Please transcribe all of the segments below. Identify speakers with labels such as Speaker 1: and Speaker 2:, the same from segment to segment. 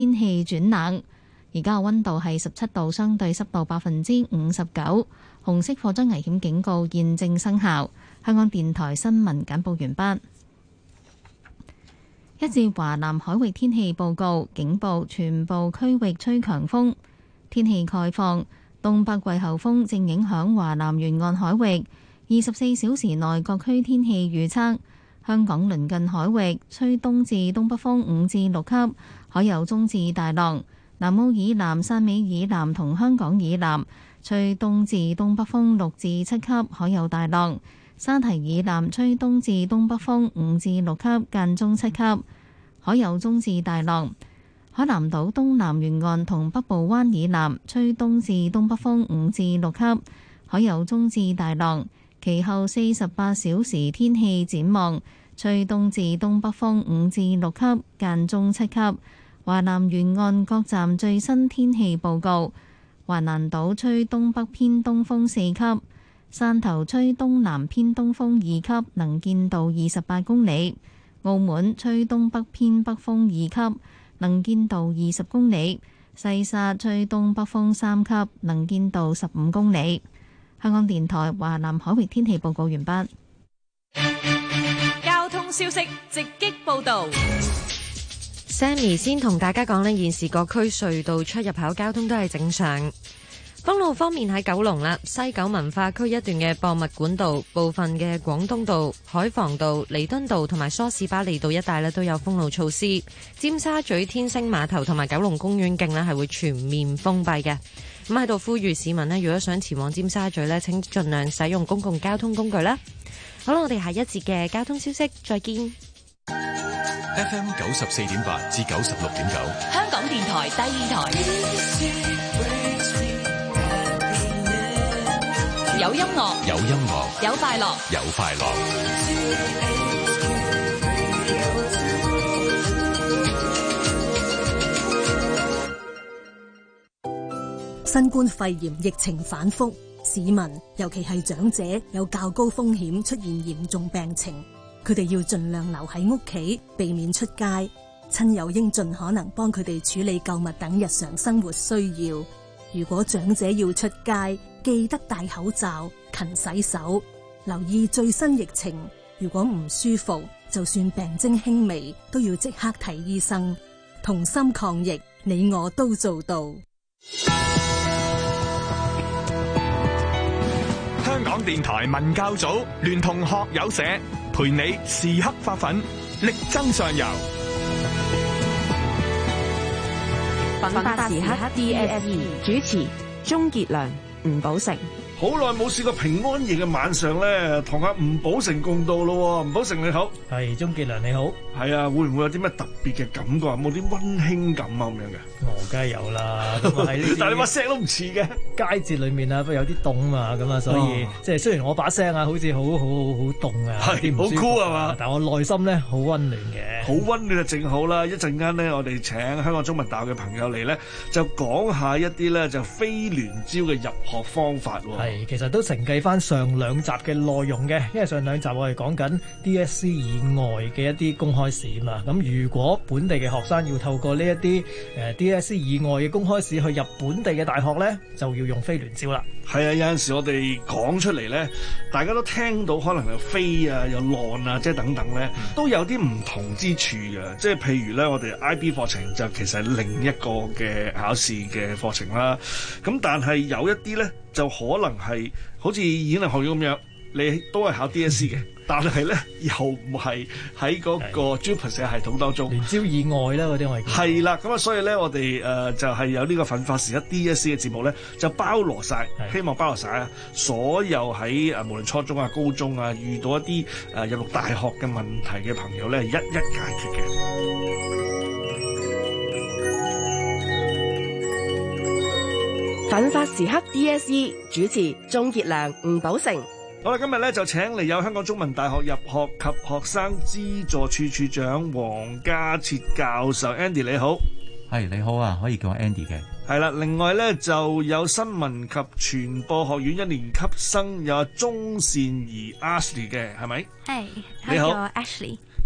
Speaker 1: 天氣轉冷。而家嘅溫度係17度，相對濕度59%。紅色火災危險警告現正生效。香港電台新聞簡報完畢。一至華南海域天氣報告，警報全部區域吹強風。天氣概況，東北季候風正影響華南沿岸海域。24小時內各區天氣預測：香港鄰近海域吹東至東北風5至6級，海有中至大浪。南澳以南、汕尾以南同香港以南吹東至東北風6至7級，海有大浪。沙堤以南吹東至東北風5至6級，間中7級，海有中至大浪。海南島東南沿岸同北部灣以南吹東至東北風5至6級，海有中至大浪。其後48小時天氣展望，吹東至東北風5至6級，間中7級。華南沿岸各站最新天氣報告：華南島吹東北偏東風4級，汕頭吹東南偏東風2級，能見度28公里；澳門吹東北偏北風2級，能見度20公里；西沙吹東北風3級，能見度15公里。香港電台華南海域天氣報告完畢。
Speaker 2: 交通消息直擊報道。
Speaker 3: Sammy 先同大家講呢，現時各區隧道出入口交通都係正常。封路方面喺九龍啦，西九文化區一段嘅博物館道、部分嘅廣東道、海防道、彌敦道同埋梳士巴利道一帶都有封路措施。尖沙咀天星碼頭同埋九龍公園徑呢係會全面封閉嘅。咁喺度呼籲市民呢，如果想前往尖沙咀呢，請盡量使用公共交通工具啦。好啦，我哋下一節嘅交通消息再見。
Speaker 4: FM 94.8至96.9，
Speaker 2: 香港電台第二台，有音樂，
Speaker 4: 有音樂，
Speaker 2: 有快樂，
Speaker 4: 有快樂。
Speaker 5: 新冠肺炎疫情反覆，市民尤其係長者有較高風險出現嚴重病情。佢哋要盡量留喺屋企，避免出街。親友應盡可能幫佢哋處理購物等日常生活需要。如果長者要出街，記得戴口罩、勤洗手，留意最新疫情。如果唔舒服，就算病徵輕微，都要即刻睇醫生。同心抗疫，你我都做到。
Speaker 6: 香港電台文教組聯同學友社，陪你時刻發奮，力爭上游。
Speaker 2: 奮發時刻 DSE 主持鍾傑良、吳寶成。
Speaker 7: 好耐冇試過平安夜嘅晚上咧，同阿吳寶成共度咯。吳寶成你好，
Speaker 8: 係鍾傑良你好。
Speaker 7: 係啊，會唔會有啲咩特別嘅感覺？冇啲溫馨感啊咁樣嘅？
Speaker 8: 我梗係有啦。咁啊喺
Speaker 7: 但係你把聲都唔似嘅。
Speaker 8: 佳節裏面啊，不過有啲凍嘛，咁啊，所以即係雖然我把聲啊，好似好凍啊，
Speaker 7: 係好酷係嘛？
Speaker 8: 但係我內心咧好溫暖嘅。
Speaker 7: 好溫暖就正好啦！一陣間咧，我哋請香港中文大學嘅朋友嚟咧，就講下一啲咧就非聯招嘅入學方法喎。
Speaker 8: 係，其實都承繼翻上兩集嘅內容嘅，因為上兩集我哋講緊 DSE 以外嘅一啲公開試嘛。咁如果本地嘅學生要透過呢一啲DSE 以外嘅公開試去入本地嘅大學咧，就要用非聯招啦。
Speaker 7: 係啊，有陣時我哋講出嚟咧，大家都聽到可能有飛啊、有浪啊，即係等等咧，都有啲唔同之處嘅。即係譬如咧，我哋 IB 課程就其實係另一個嘅考試嘅課程啦。咁但係有一啲咧，就可能係好似演藝學院咁樣，你都係考 DSE 嘅。但係咧，又唔係喺嗰個 JUPAS 系統當中，
Speaker 8: 聯招以外啦嗰啲我係
Speaker 7: 係啦，咁啊，所以咧，我哋就係有呢個奮發時刻 DSE 嘅節目咧，就包羅晒，希望包羅晒啊，所有喺無論初中啊、高中啊，遇到一啲入讀大學嘅問題嘅朋友咧，一一解決嘅。
Speaker 2: 奮發時刻 DSE 主持鍾傑良、吳寶成。
Speaker 7: 好啦，今日咧就請嚟有香港中文大學入學及學生資助處處長黃家徹教授 Andy 你好。
Speaker 9: 係你好啊，可以叫我 Andy 嘅。
Speaker 7: 係啦，另外咧就有新聞及傳播學院一年級生有鐘善儀 Ashley 嘅，係咪？
Speaker 10: 係，
Speaker 7: 你好
Speaker 10: Ashley。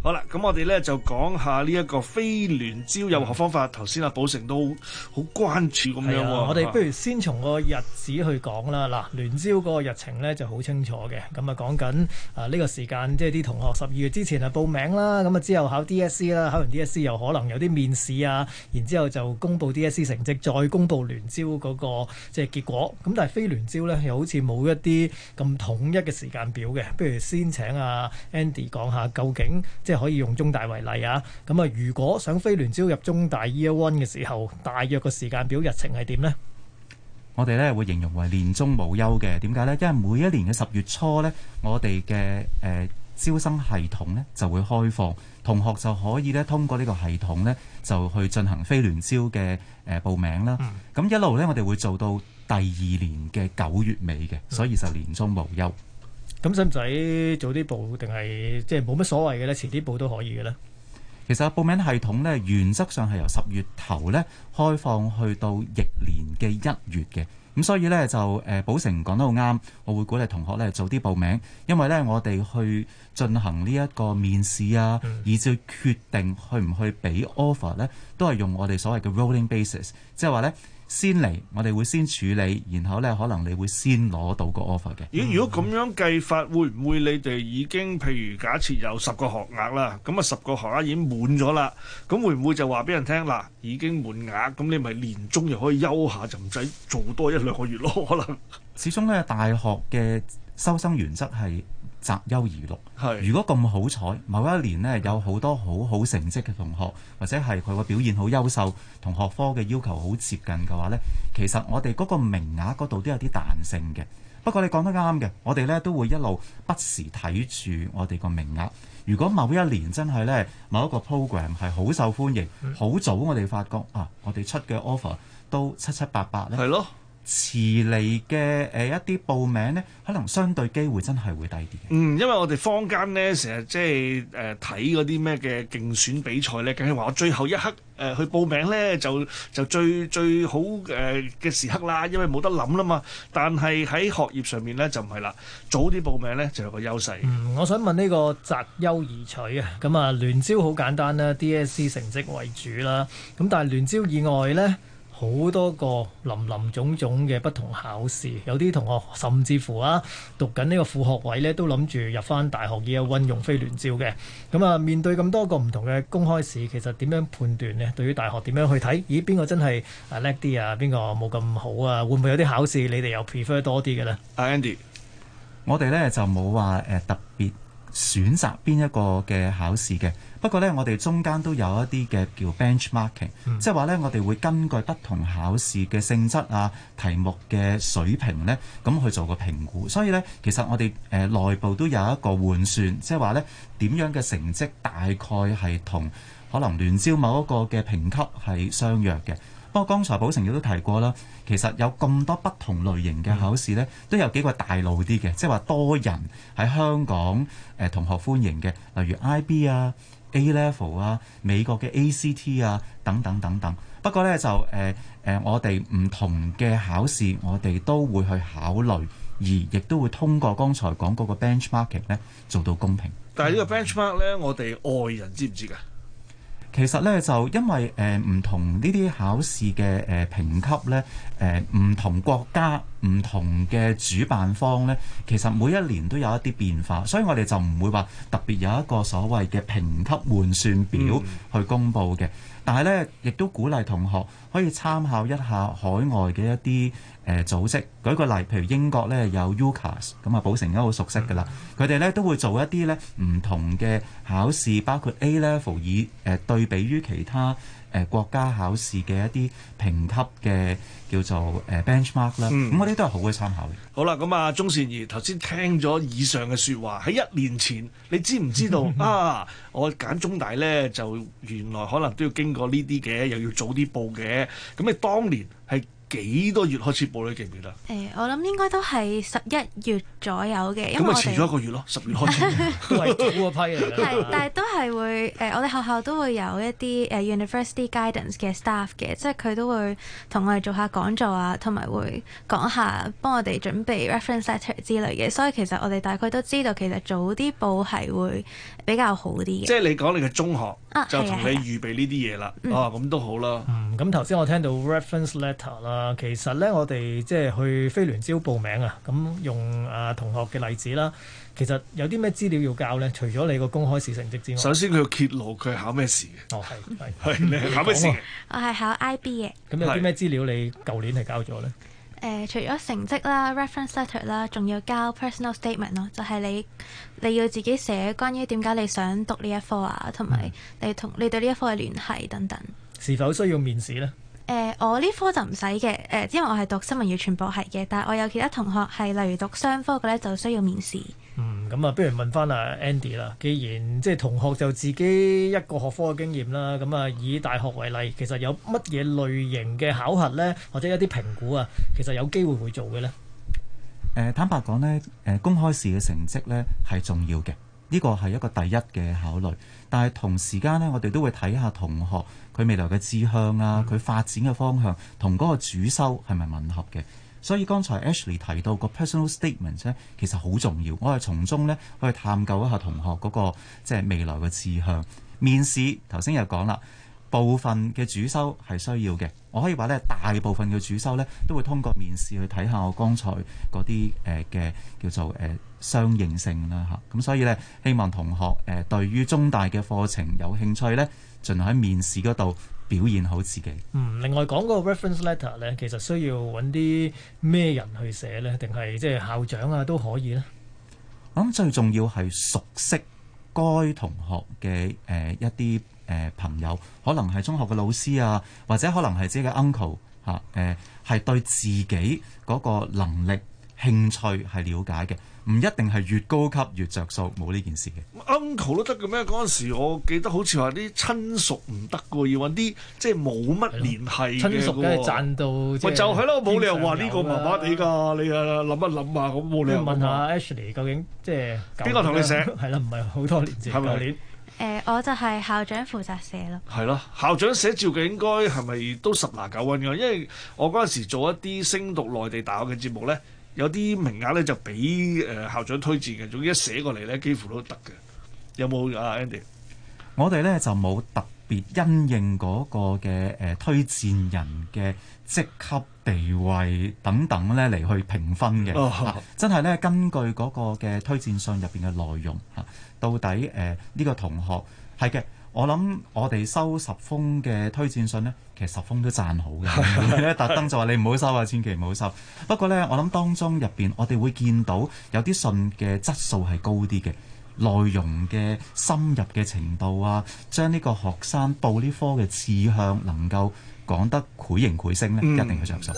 Speaker 7: 好啦，咁我哋咧就講下呢一個非聯招入學方法。頭先阿寶成都好關注咁樣喎。
Speaker 8: 我哋不如先從個日子去講啦。嗱，聯招嗰個日程咧就好清楚嘅。咁啊講緊呢個時間，即係啲同學12月之前啊報名啦，咁啊之後考 DSE 啦，考完 DSE 又可能有啲面試啊，然之後就公佈 DSE 成績，再公佈聯招嗰個即係結果。咁但係非聯招咧又好似冇一啲咁統一嘅時間表嘅。不如先請阿 Andy 講下究竟即係可以用中大為例啊。咁啊，如果想非聯招入中大 Year One 嘅時候，大約個時間表日程係點呢？
Speaker 9: 我哋咧會形容為年中無休嘅。點解呢？因為每一年嘅10月初呢，我哋嘅招生系統呢就會開放，同學就可以咧通過呢個系統呢就去進行非聯招嘅報名啦。咁一路呢，我哋會做到第2年嘅9月尾嘅，所以就年中無休。
Speaker 8: 咁使唔使早啲報定係即係冇乜所謂嘅咧？遲啲報都可以嘅咧。
Speaker 9: 其實報名系統咧，原則上係由10月頭咧開放去到翌年嘅1月嘅。咁所以咧就寶成講得好啱，我會鼓勵同學咧早啲報名，因為咧我哋去進行呢一個面試啊，以至決定去唔去俾 offer 咧，都係用我哋所謂嘅 rolling basis， 即係話咧。先嚟，我哋會先處理，然後咧可能你會先攞到個 offer 嘅。
Speaker 7: 如果咁樣計法，會唔會你哋已經譬如假設有10個學額啦，咁啊10個學額已經滿咗啦，咁會唔會就話俾人聽嗱已經滿額，咁你咪年中又可以休下，就唔使做多1-2個月咯？可能
Speaker 9: 始終咧大學嘅收生原則係擇優而錄。如果咁好彩，某一年呢有好多好成績嘅同學，或者係佢個表現好優秀，同學科嘅要求好接近嘅話呢，其實我哋嗰個名額嗰度都有啲彈性嘅。不過你講得啱嘅，我哋呢都會一路不時睇住我哋個名額。如果某一年真係呢某一個 program 係好受歡迎，好早我哋發覺啊，我哋出嘅 offer 都7-8呢。係咯。遲嚟嘅一啲報名呢，可能相對機會真係會低啲嘅。
Speaker 7: 因為我哋坊間呢，成日即係睇嗰啲咩嘅競選比賽呢，梗係話我最後一刻去報名呢，就最好嘅時刻啦，因為冇得諗啦嘛。但係喺學業上面呢，就唔係啦，早啲報名呢，就有個優勢。
Speaker 8: 我想問呢個擇優而取啊，咁啊聯招好簡單啦，DSE 成績為主啦，咁但係聯招以外呢，好多個林種種嘅不同考試，有啲同學甚至乎讀緊呢個副學位呢，都諗住入翻大學 Year One 用非聯招嘅。咁啊，面對咁多個唔同嘅公開試，其實點樣判斷呢？對於大學點樣去睇？咦，邊個真係叻啲啊？邊個冇咁好啊？會唔會有啲考試你哋又 prefer 多啲嘅呢
Speaker 7: ？Andy，
Speaker 9: 我哋呢就冇話特別選擇邊一個嘅考試嘅。不過呢，我哋中間都有一啲嘅叫 benchmarking，即係話呢，我哋會根據不同考試嘅性質啊、題目嘅水平呢，咁去做個評估。所以呢，其實我哋內部都有一個換算，即係話呢點樣嘅成績大概係同可能聯招某一個嘅評級係相若嘅。不過剛才寶成亦都提過啦，其實有咁多不同類型嘅考試呢，都有幾個大路啲嘅，即係話多人喺香港同學歡迎嘅，例如 IB 啊、A-level 啊、美國嘅 ACT 啊等等等等。不過呢，就我哋唔同嘅考試，我哋都會去考慮，而亦都會通過剛才講嗰個 benchmarking 呢做到公平。
Speaker 7: 但係呢個 benchmark 呢，我哋外人知唔知㗎？
Speaker 9: 其實咧就因為唔同呢啲考試嘅評級咧，唔同國家唔同嘅主辦方咧，其實每一年都有一啲變化，所以我哋就唔會話特別有一個所謂嘅評級換算表去公佈嘅。但係咧，亦都鼓勵同學可以參考一下海外嘅一啲組織。舉個例，譬如英國咧有 UCAS， 咁啊寶成都好熟悉㗎啦。佢哋咧都會做一啲咧唔同嘅考試，包括 A-level 以對比於其他國家考試嘅一啲評級嘅叫做benchmark 啦。咁嗰啲都係好嘅參考嘅。
Speaker 7: 好啦，咁啊鍾善儀頭先聽咗以上嘅説話，喺1年前你知唔知道啊？我揀中大咧就原來可能都要經過呢啲嘅，又要早啲報嘅。咁你當年係幾多月開始報咧？記唔記得？
Speaker 10: 我諗應該都係11月左右嘅，因為
Speaker 7: 咁咪遲咗一個月咯，10月開始
Speaker 8: 都係早嗰批嚟㗎。
Speaker 10: 係，但係都係會我哋學校都會有一啲University Guidance 嘅 staff 嘅，即係佢都會同我哋做下講座啊，同埋會講下幫我哋準備 reference letter 之類嘅，所以其實我哋大概都知道其實早啲報係會比較好啲嘅。
Speaker 7: 即係你講你嘅中學就同你
Speaker 10: 係啊
Speaker 7: 預備呢啲嘢啦，咁都好啦。
Speaker 8: 咁頭先我聽到 reference letter 啦，其實咧我哋即係去非聯招報名啊，咁用同學嘅例子啦，其實有啲咩資料要交咧？除咗你個公開試成績之外，
Speaker 7: 首先佢要揭露佢係考咩試嘅。
Speaker 8: 哦，
Speaker 7: 係你係考咩試嘅？
Speaker 10: 我係考 IB 嘅。
Speaker 8: 咁有啲咩資料你舊年係交咗咧？
Speaker 10: 除咗成績啦、reference letter 啦，仲要交 personal statement 咯，就係你要自己寫關於點解你想讀呢一科啊，同埋你同你對呢一科嘅聯繫等等。
Speaker 8: 是否需要面試咧？
Speaker 10: 我呢科就唔使嘅，因為我係讀新聞與傳播系嘅，但係我有其他同學係例如讀商科嘅咧，就需要面試。
Speaker 8: 咁不如問翻阿 Andy 啦。既然即係同學就自己一個學科嘅經驗啦，咁以大學為例，其實有乜嘢類型嘅考核咧，或者一啲評估啊，其實有機會做嘅咧？
Speaker 9: 坦白講呢，公開試嘅成績呢係重要嘅，呢個係一個第一嘅考慮。但係同時間呢，我哋都會睇下同學佢未來嘅志向啊，佢發展嘅方向同嗰個主修係咪吻合嘅。所以剛才 Ashley 提到個 personal statement 咧，其實好重要。我係從中呢去探究一下同學嗰個即係未來嘅志向。面試頭先又講啦，部分嘅主修係需要嘅。我可以話咧，大部分嘅主修咧都會通過面試去睇下我剛才嗰啲嘅叫做相應性啦嚇。咁所以咧，希望同學對於中大嘅課程有興趣咧，盡量喺面試嗰度表現好自己。
Speaker 8: 另外講個 reference letter 咧，其實需要揾啲咩人去寫咧，定係即係校長啊都可以咧？
Speaker 9: 我諗最重要係熟悉該同學嘅一啲朋友，可能係中學嘅老師啊，或者可能係自己嘅 uncle 嚇，係對自己嗰個能力、興趣係了解嘅，唔一定係越高級越着數，冇呢件事嘅。
Speaker 7: uncle 都得嘅咩？嗰陣時我記得好似話啲親屬唔得嘅，要揾啲即係冇乜聯繫嘅。親
Speaker 8: 屬梗係賺到，
Speaker 7: 咪就係咯，冇理由話呢個麻麻地㗎。你諗一諗啊，咁冇理由。
Speaker 8: 問下 Ashley 究竟即係
Speaker 7: 邊個同你寫？
Speaker 8: 係啦，唔係好多年前，舊年。
Speaker 10: 我就係校長負責寫咯。
Speaker 7: 係咯，校長寫照嘅應該係咪都10拿9穩㗎？因為我嗰陣時做一啲升讀內地大學嘅節目咧，有啲名額咧就俾校長推薦嘅，總之一寫過嚟咧幾乎都得嘅。有冇啊 Andy？
Speaker 9: 我哋咧就冇特別因應嗰個嘅推薦人嘅職級地位等等咧嚟去評分嘅。真係咧根據嗰個嘅推薦信入邊嘅內容嚇，到底呢個同學係嘅。我諗我哋收10封嘅推薦信呢，其實10封都讚好嘅，特登就話你唔好收啊，千祈唔好收。不過呢，我諗當中入邊我哋會見到有啲信嘅質素係高啲嘅，內容嘅深入嘅程度啊，將呢個學生報呢科嘅志向能夠講得繪形繪聲呢，一定係着數。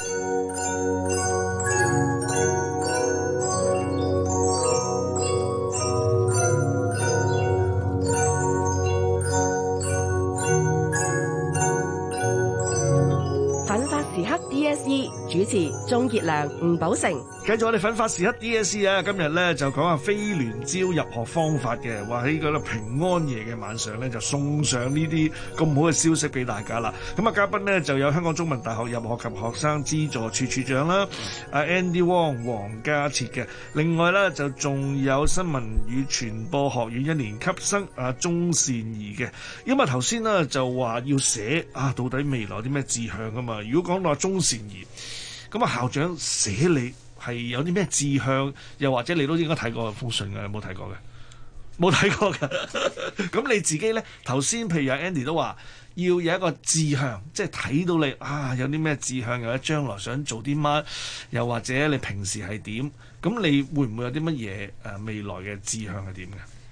Speaker 2: 時刻 DSE 主持鍾傑良、吳寶成。
Speaker 7: 繼續我哋奮發時刻 DSE 啊！今日咧就講下非聯招入學方法嘅，話喺嗰個平安夜嘅晚上咧就送上呢啲咁好嘅消息俾大家啦。咁啊，嘉賓呢就有香港中文大學入學及學生資助處處長啦，阿 Andy Wong 黃家徹嘅。另外咧就仲有新聞與傳播學院1年級生阿鍾善儀嘅。因為頭先呢就話要寫啊，到底未來啲咩志向啊嘛？如果講到阿鍾善儀，咁啊校長寫你係有啲咩志向，又或者你都應該睇過封信嘅，有冇睇過嘅？冇睇過嘅。咁你自己咧，頭先譬如阿 Andy 都話要有一個志向，即係睇到你啊有啲咩志向，又或者將來想做啲乜，又或者你平時係點，咁你會唔會有啲乜嘢未來嘅志向係點嘅？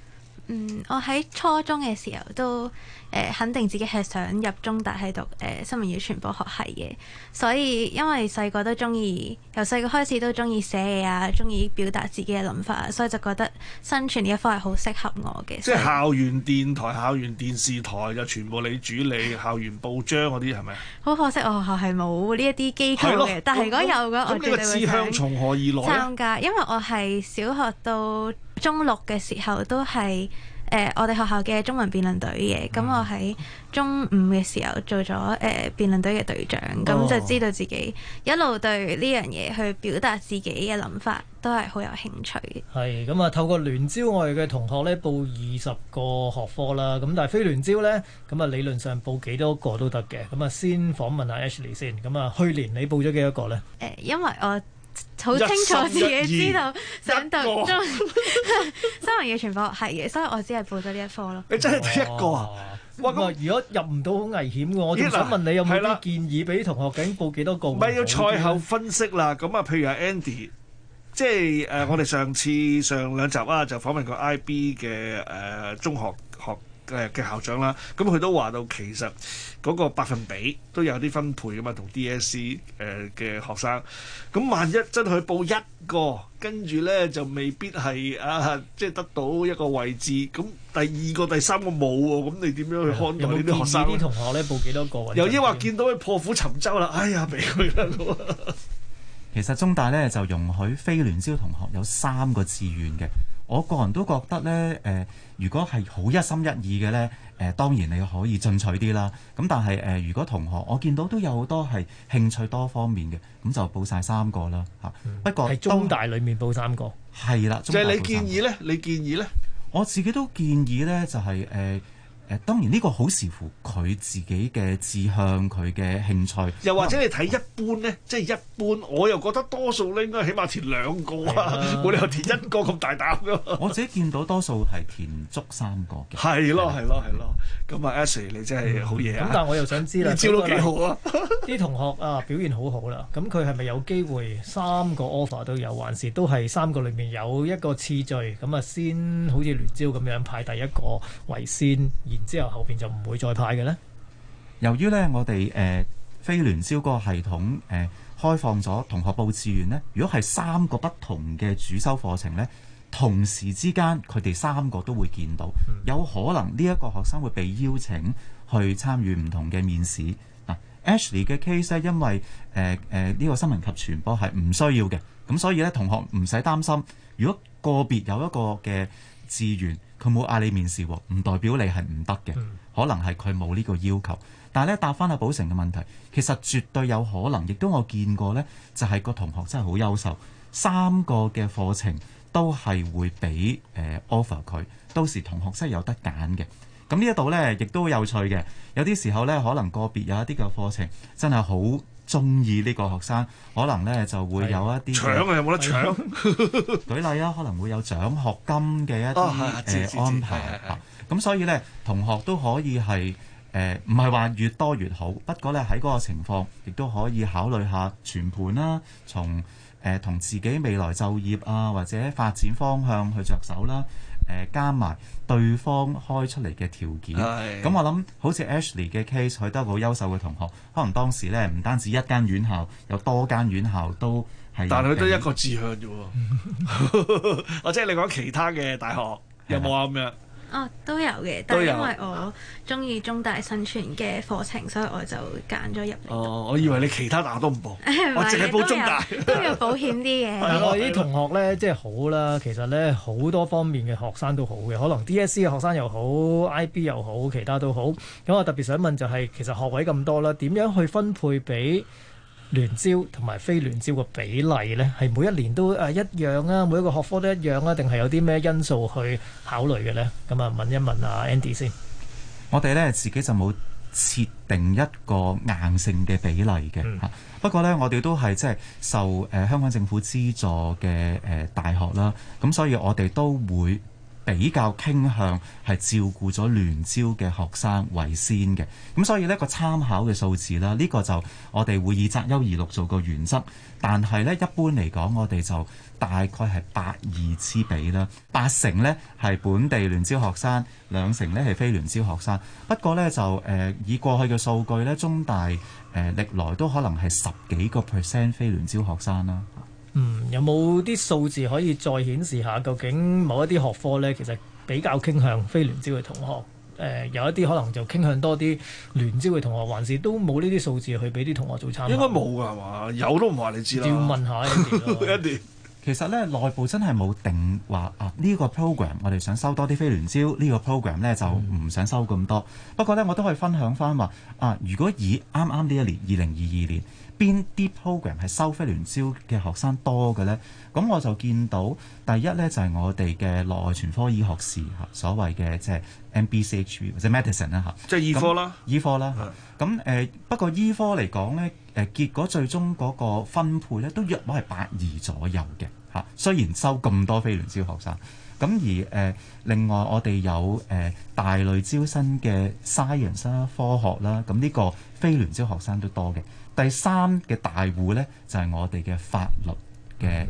Speaker 10: 我喺初中嘅時候都肯定自己係想入中大係讀新聞與傳播學系嘅，所以因為細個都中意，由細個開始都中意寫嘢啊，中意表達自己嘅諗法，所以就覺得新傳呢一科係好適合我嘅。
Speaker 7: 即係校園電台、校園電視台就全部你主理，校園報章嗰啲係咪？
Speaker 10: 好可惜我學校係冇呢一啲機構嘅，但係如果有嘅，我絕對會想
Speaker 7: 志向從何而來
Speaker 10: 參加，因為我係小學到中六嘅時候都係我哋學校嘅中文辯論隊嘅，咁我喺中五嘅時候做咗辯論隊嘅隊長，咁就知道自己一路對呢樣嘢去表達自己嘅諗法都係好有興趣嘅。
Speaker 8: 係咁啊，透過聯招我哋嘅同學呢報20個學科啦，咁但係非聯招呢，咁啊理論上報幾多個都得嘅。咁啊先訪問下 Ashley 先，咁啊去年你報咗幾多個呢？
Speaker 10: 因為我好清楚自己知道想讀中新聞與傳播學系嘅，所以我只係報咗呢一科咯。
Speaker 7: 你真係第一個啊！
Speaker 8: 哇咁如果入唔到好危險嘅，我仲想問你有冇啲建議俾同學究竟報幾多個？
Speaker 7: 唔係要賽後分析啦。咁啊，譬如阿 Andy，即係我哋上兩集啊，就訪問過 IB 嘅中學嘅校長啦。咁佢都話到其實嗰個百分比都有啲分配㗎嘛，同 DSE 嘅學生。咁萬一真係報一個，跟住咧就未必係即係得到一個位置。咁第二個、第三個冇喎，咁你點樣去看待呢啲學生？
Speaker 8: 有冇建議啲同學咧報幾多個？
Speaker 7: 又抑或見到佢破釜沉舟啦？哎呀，俾佢啦！
Speaker 9: 其實中大咧就容許非聯招同學有3個志願嘅。我個人都覺得咧，如果係好一心一意嘅咧，當然你可以進取啲啦。咁但係如果同學我見到都有好多係興趣多方面嘅，咁就報晒3個啦嚇。不過
Speaker 8: 係中大裡面報3個，
Speaker 9: 係啦。
Speaker 7: 就係你建議咧？你建議咧？
Speaker 9: 我自己都建議咧，就係當然呢個好視乎佢自己嘅志向，佢嘅興趣。
Speaker 7: 又或者你睇一般咧，即係一般，我又覺得多數咧應該起碼填2個啊，冇理由填1個咁大膽噶。
Speaker 9: 我自己見到多數係填足3個嘅。
Speaker 7: 係咯。咁啊 Ashley 你真係好嘢啊！
Speaker 8: 咁但係我又想知啦，
Speaker 7: 你招都幾好啊！
Speaker 8: 啲同學啊表現好好啦，咁佢係咪有機會3個 offer 都有，還是都係3個裡面有一個次序咁啊？先好似聯招咁樣排第一個為先。然之後後邊就唔會再派嘅呢？
Speaker 9: 由於呢，我哋非聯招嗰個系統開放咗同學報志願呢，如果係3個不同嘅主修課程呢，同時之間佢哋3個都會見到，有可能呢一個學生會被邀請去參與唔同嘅面試。Ashley 嘅 case 呢，因為呢個新聞及傳播係唔需要嘅，咁所以呢，同學唔使擔心。如果個別有一個嘅志願，佢冇嗌你面試喎，唔代表你係唔得嘅，可能係佢冇呢個要求。但係咧，答翻阿寶成嘅問題，其實絕對有可能，亦都我見過呢，就係個同學真係好優秀，3個嘅課程都係會俾offer 佢，到時同學真係有得揀嘅。咁呢一度呢，亦都有趣嘅，有啲時候呢，可能個別有一啲嘅課程真係好中意呢個學生，可能呢就會有一啲
Speaker 7: 搶啊！有冇得搶？
Speaker 9: 舉例啊，可能會有獎學金嘅一啲安排。咁所以呢，同學都可以係唔係話越多越好，不過呢，喺嗰個情況，亦都可以考慮下全盤啦，從同自己未來就業啊或者發展方向去着手啦。加埋對方開出嚟嘅條件，咁我諗好似 Ashley 嘅 case，佢都係好優秀嘅同學，可能當時咧唔單止一間院校，有多間院校都係。但係佢都一個志向啫喎，或者你講其他嘅大學有冇啊咁樣？
Speaker 10: 都有嘅，但係因為我中意中大新傳嘅課程，所以我就揀咗入嚟。
Speaker 7: 我以為你其他大學都唔報，我淨係報中大，
Speaker 10: 都有保險啲嘅。
Speaker 8: 我啲同學咧，即係好啦，其實咧好多方面嘅學生都好嘅，可能 DSE 嘅學生又好 ，IB 又好，其他都好。咁我特別想問就係，其實學位咁多啦，點樣去分配俾聯招同埋非聯招嘅比例呢？係每一年都一樣啊，每一個學科都一樣啊，定係有啲咩因素去考慮嘅呢？咁啊，問一問阿 Andy 先。我哋呢自己就冇設定一個硬性嘅比例嘅嚇。不過呢，我哋都係即係受香港政府資助嘅大學啦，咁所以我哋都會
Speaker 9: 比較傾向係照顧咗聯招嘅學生為先嘅。咁所以呢個參考嘅數字啦，呢個就我哋會以擇優而錄做個原則。但係呢，一般嚟講，我哋就大概係8:2之比啦，80%呢係本地聯招學生，20%呢係非聯招學生。不過呢，就以過去嘅數據呢，中大歷來都可能係10幾個%非聯招學生啦。
Speaker 8: 有冇啲數字可以再顯示下，究竟某一啲學科呢，其實比較傾向非聯招嘅同學？有一啲可能就傾向多啲聯招嘅同學，還是都冇呢啲數字去俾啲同學做參考？
Speaker 7: 應該冇㗎係嘛？有都唔話你知啦。
Speaker 8: 要問下一啲。
Speaker 9: 其實咧，內部真係冇定話呢個 program 我哋想收多啲非聯招，呢個 program 咧就唔想收咁多。不過咧，我都可以分享翻話如果以啱啱呢一年2022年邊啲 program 係收非聯招嘅學生多嘅咧，咁我就見到第一咧就係我哋嘅內外全科醫學士所謂嘅即係 MBCHV 或者 medicine 啦嚇，
Speaker 7: 即係醫科啦，
Speaker 9: 醫科啦。咁不過醫科嚟講咧，結果最終嗰個分配咧都約莫係8:2左右嘅嚇。雖然收咁多非聯招學生，咁而另外我哋有大類招生嘅 science 啦、科學啦，咁呢個非聯招學生都多嘅。第三嘅大戶咧就係我哋嘅法律嘅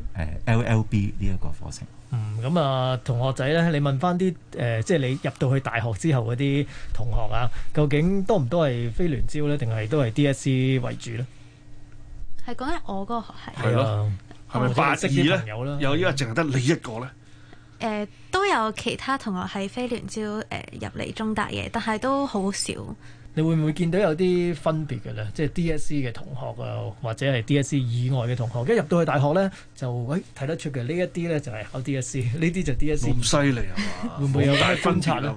Speaker 9: LLB 呢一個課程。
Speaker 8: 咁同學仔咧，你問翻啲即係你入到去大學之後嗰啲同學啊，究竟多唔多係非聯招咧，定係都係 DSE 為主咧？
Speaker 10: 係講緊我嗰個學系。
Speaker 7: 係咯，係咪8:2咧？有依家淨係得你一個咧？
Speaker 10: 都有其他同學係非聯招入嚟中大嘅，但係都好少。
Speaker 8: 你會唔會見到有啲分別嘅咧？即係 DSE 嘅同學啊，或者係 DSE 以外嘅同學，一入到去大學咧，就睇得出嘅呢一啲咧就係考 DSE， 呢啲就 DSE。
Speaker 7: 咁犀利啊嘛？
Speaker 8: 會唔會有
Speaker 7: 大
Speaker 8: 咩觀察咧？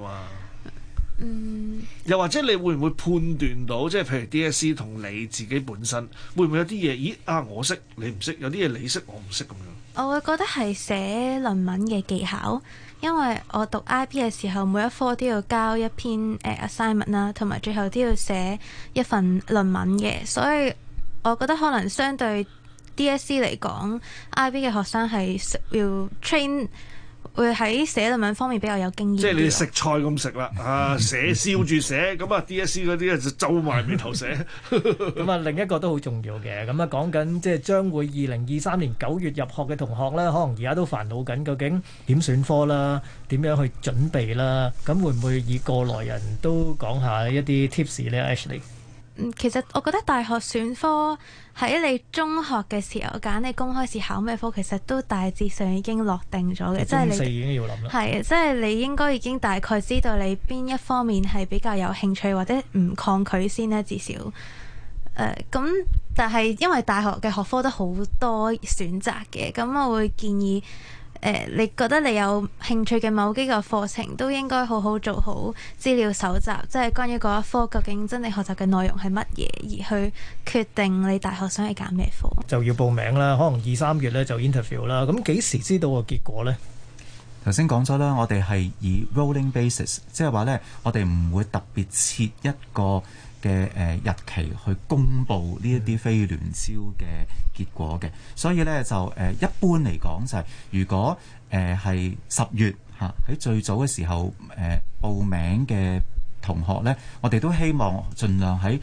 Speaker 7: 又或者你會唔會判斷到，即係譬如 DSE 同你自己本身，會唔會有啲嘢？咦我識你唔識，有啲嘢你識我唔識咁樣？
Speaker 10: 我會覺得係寫論文嘅技巧。因為我讀 IB 嘅時候，每一科都要交一篇assignment 啦，同埋最後都要寫一份論文嘅，所以我覺得可能相對 DSE 嚟講，IB 嘅學生係要 train，會喺寫論文方面比較有經驗。
Speaker 7: 即係你食菜咁食啦，寫笑住寫，咁DSE 嗰啲就皺埋眉頭寫。
Speaker 8: 咁另一個都好重要嘅，咁講緊即係將會2023年9月入學嘅同學咧，可能而家都煩惱緊，究竟點選科啦，點樣去準備啦？咁會唔會以過來人都講下一啲 tips 咧 ？Ashley，
Speaker 10: 其實我覺得大學選科喺你中學嘅時候揀你公開試考咩科，其實都大致上已經落定咗嘅，即係你
Speaker 8: 已經要諗啦。
Speaker 10: 係，即係你應該已經大概知道你邊一方面係比較有興趣或者唔抗拒先咧，至少。咁但係因為大學嘅學科都好多選擇嘅，咁我會建議你覺得你有興趣嘅某幾個課程都應該好好做好資料搜集，即係關於嗰一科究竟真係學習嘅內容係乜嘢，而去決定你大學想去揀咩科。
Speaker 8: 就要報名啦，可能2、3月咧就 interview 啦。咁幾時知道個結果呢？
Speaker 9: 頭先講咗啦，我哋係以 rolling basis， 即係話呢，我哋唔會特別設一個嘅日期去公布呢一啲非聯招嘅結果嘅，所以咧就一般嚟講就係如果係10月喺最早嘅時候報名嘅同學咧，我哋都希望盡量喺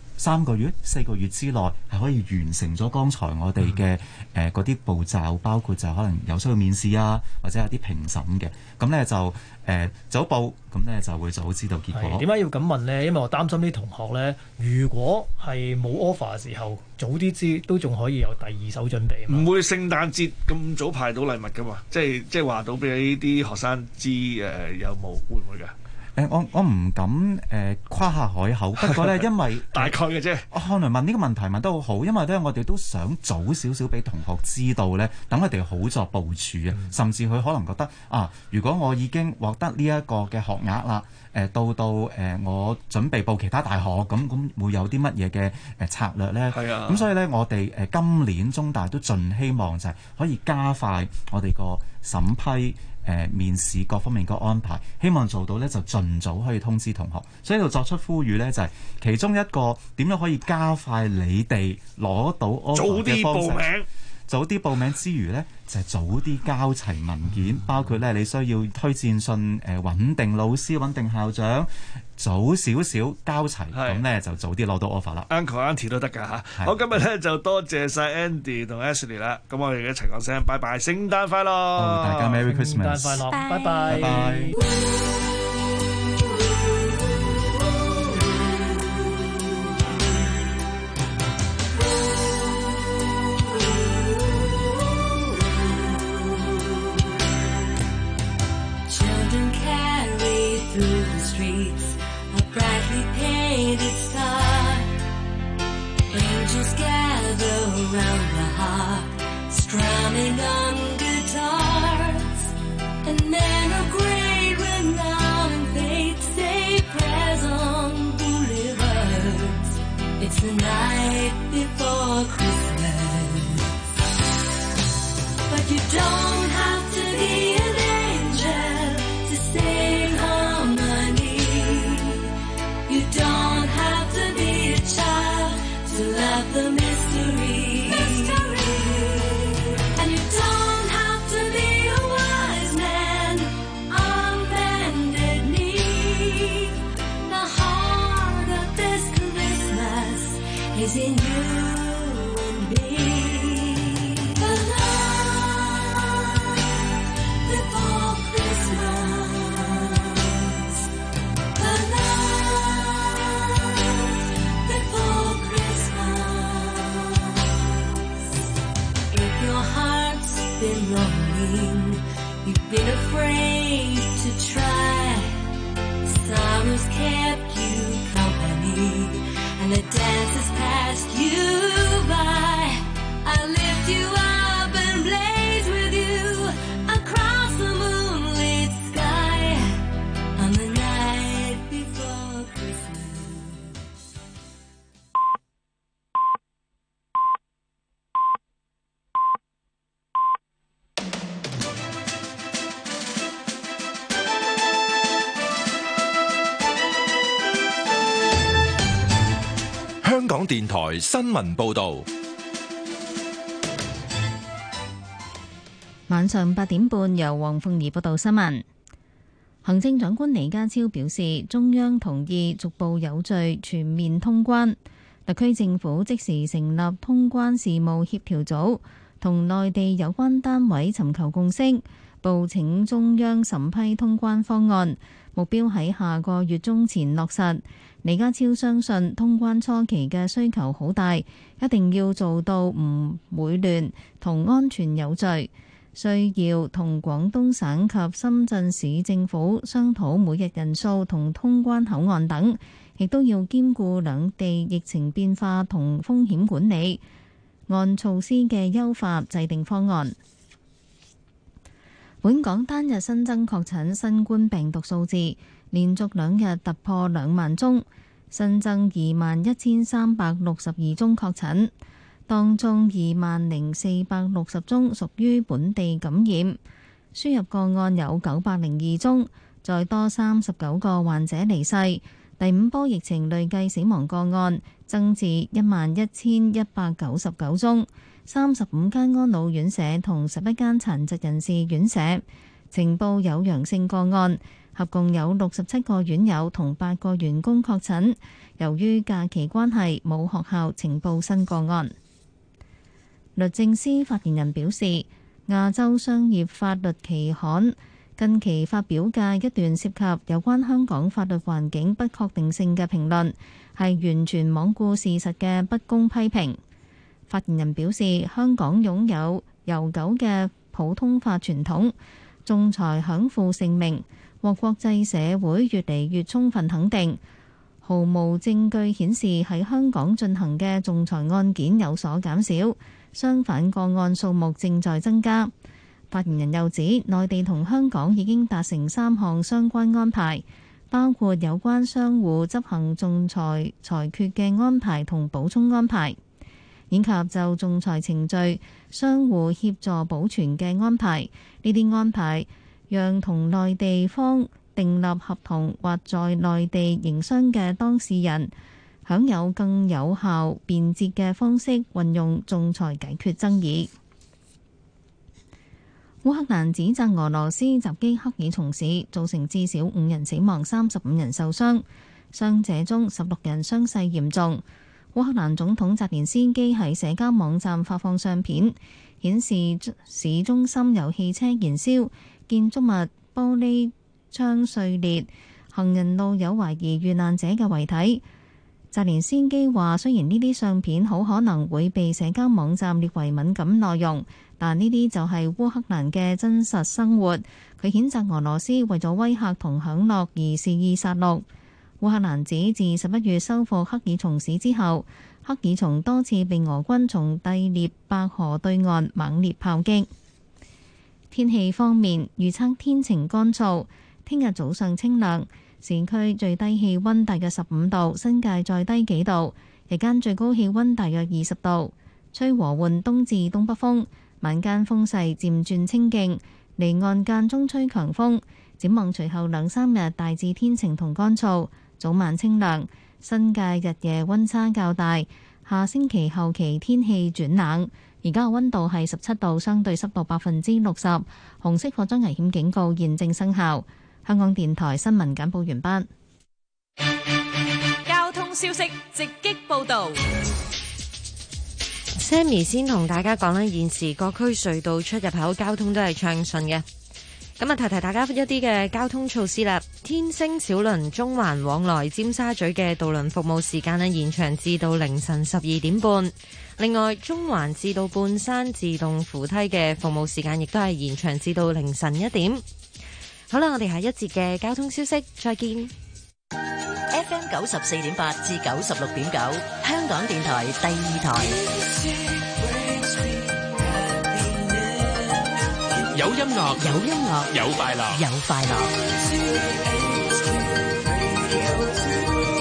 Speaker 9: 3個月、4個月之內係可以完成咗剛才我哋嘅嗰啲步驟，包括就可能有需要面試啊，或者有啲評審嘅。咁咧就早報，咁咧就會早知道結果。
Speaker 8: 點解要咁問呢？因為我擔心啲同學咧，如果係冇 offer 嘅時候，早啲知都仲可以有第二手準備。
Speaker 7: 唔會聖誕節咁早派到禮物噶嘛？即係話到俾啲學生知有冇會唔會㗎？
Speaker 9: 我唔敢誇下海口，不過咧，因為
Speaker 7: 大概嘅啫。
Speaker 9: 我可能問呢個問題問得好好，因為咧我哋都想早少少俾同學知道咧，等佢哋好作部署啊。甚至佢可能覺得如果我已經獲得呢一個嘅學額啦，到我準備報其他大學，咁會有啲乜嘢嘅策略咧？係啊。咁所以咧，我哋今年中大都盡希望就係可以加快我哋個審批。面試各方面嘅安排，希望做到呢就盡早可以通知同學，所以度作出呼籲呢，就係其中一個點樣可以加快你哋攞到 offer 嘅方式， 早啲報名之餘呢，就係早啲交齊文件，包括呢你需要推薦信穩定老師、穩定校長，早少少交齊，咁呢就早啲攞到 offer 啦。
Speaker 7: Uncle Auntie 都得㗎嚇。好，今日呢就多謝晒 Andy 同 Ashley 啦。咁我哋一齊講聲拜拜，聖誕快樂！
Speaker 9: 大家 Merry Christmas，
Speaker 8: 聖誕快樂，拜拜。
Speaker 9: 拜拜。
Speaker 11: Brightly painted star, angels gather around the harp, strumming on guitars, and men of great renown and fate say prayers on boulevards. It's the night before Christmas, but you don't have to be an angel to sing harmony. You don't have to be a child to love the mystery. And you don't have to be a wise man on bended knee. The heart of this Christmas is in you and me. The love before Christmas. The love before Christmas. If your heart's been longing, you've been afraid to try, sorrow's kept you company, and the dance has passed you by. I lift you up and blaze with you across the moonlit sky on the night before Christmas.
Speaker 12: 香港電台新聞報導。
Speaker 1: 晚上8點半，由黃鳳儀報道新聞。行政長官李家超表示，中央同意逐步有序全面通關，特區政府即時成立通關事務協調組，同內地有關單位尋求共識，報請中央審批通關方案，目標喺下個月中前落實。李家超相信通關初期嘅需求好大，一定要做到唔會亂同安全有序。需要同廣東省及深圳市政府商討每日人數同通關口岸等，亦都要兼顧兩地疫情變化同風險管理，按措施嘅優化制定方案。本港單日新增確診新冠病毒數字連續2日突破2萬宗，新增21,362宗確診。當中20,460宗屬於本地感染，輸入個案有902宗，再多39個患者離世。第5波疫情累計死亡個案增至11,199宗，35間安老院舍同11間殘疾人士院舍呈報有陽性個案，合共有67個院友同8個員工確診。由於假期關係，冇學校呈報新個案。律政司發言人表示，亞洲商業法律期刊近期發表嘅一段涉及有關香港法律環境不確定性嘅評論，係完全罔顧事實嘅不公批評。發言人表示，香港擁有悠久嘅普通法傳統，仲裁享負盛名，獲國際社會越嚟越充分肯定。毫無證據顯示喺香港進行嘅仲裁案件有所減少，相反個案數目正在增加。發言人又指，內地同香港已經達成3項相關安排，包括有關相互執行仲裁裁決嘅安排同補充安排，以及就仲裁程序相互協助保存嘅安排。呢啲安排讓同內地方訂立合同或在內地營商嘅當事人享有更有效便捷嘅方式運用仲裁解決爭議。 烏克蘭指責俄羅斯襲擊克爾松市，造成至少5人死亡、35人受傷，傷者中16人傷勢嚴重。烏克蘭總統澤連斯基喺社交網站發放相片，顯示市中心有汽車燃燒，建築物玻璃窗碎裂，行人路有懷疑遇難者嘅遺體。澤連斯基話：雖然呢啲相片好可能會被社交網站列為敏感內容，但呢啲就係烏克蘭嘅真實生活。佢譴責俄羅斯為咗威嚇同享樂而肆意殺戮。烏克蘭指自11月收復克爾松市之後，克爾松多次被俄軍從第聶伯河對岸猛烈炮擊。天氣方面，預測天晴乾燥，聽日早上清涼，市區最低氣溫大約15度，新界再低幾度，日間最高氣溫大約20度，吹和緩東至東北風，晚間風勢漸轉清勁，離岸間中吹強風。展望隨後2-3日大致天晴同乾燥，早晚清涼，新界日夜溫差較大。下星期後期天氣轉冷，而家嘅溫度係17度，相對濕度60%。紅色火災危險警告現正生效。香港電台新聞簡報完畢。
Speaker 2: 交通消息直擊報導。
Speaker 3: Sammy 先同大家講咧，現時各區隧道出入口交通都係暢順嘅。咁啊，提提大家一啲嘅交通措施啦。天星小輪中環往來尖沙咀嘅渡輪服務時間咧延長至到凌晨12點半。另外，中環至到半山自動扶梯嘅服務時間亦都係延長至到凌晨1點。好啦，我哋下一節嘅交通消息再見。
Speaker 13: FM 94.8至96.9，香港電台第2台。
Speaker 12: 有音樂，
Speaker 13: 有音樂，
Speaker 12: 有快樂，
Speaker 13: 有快樂。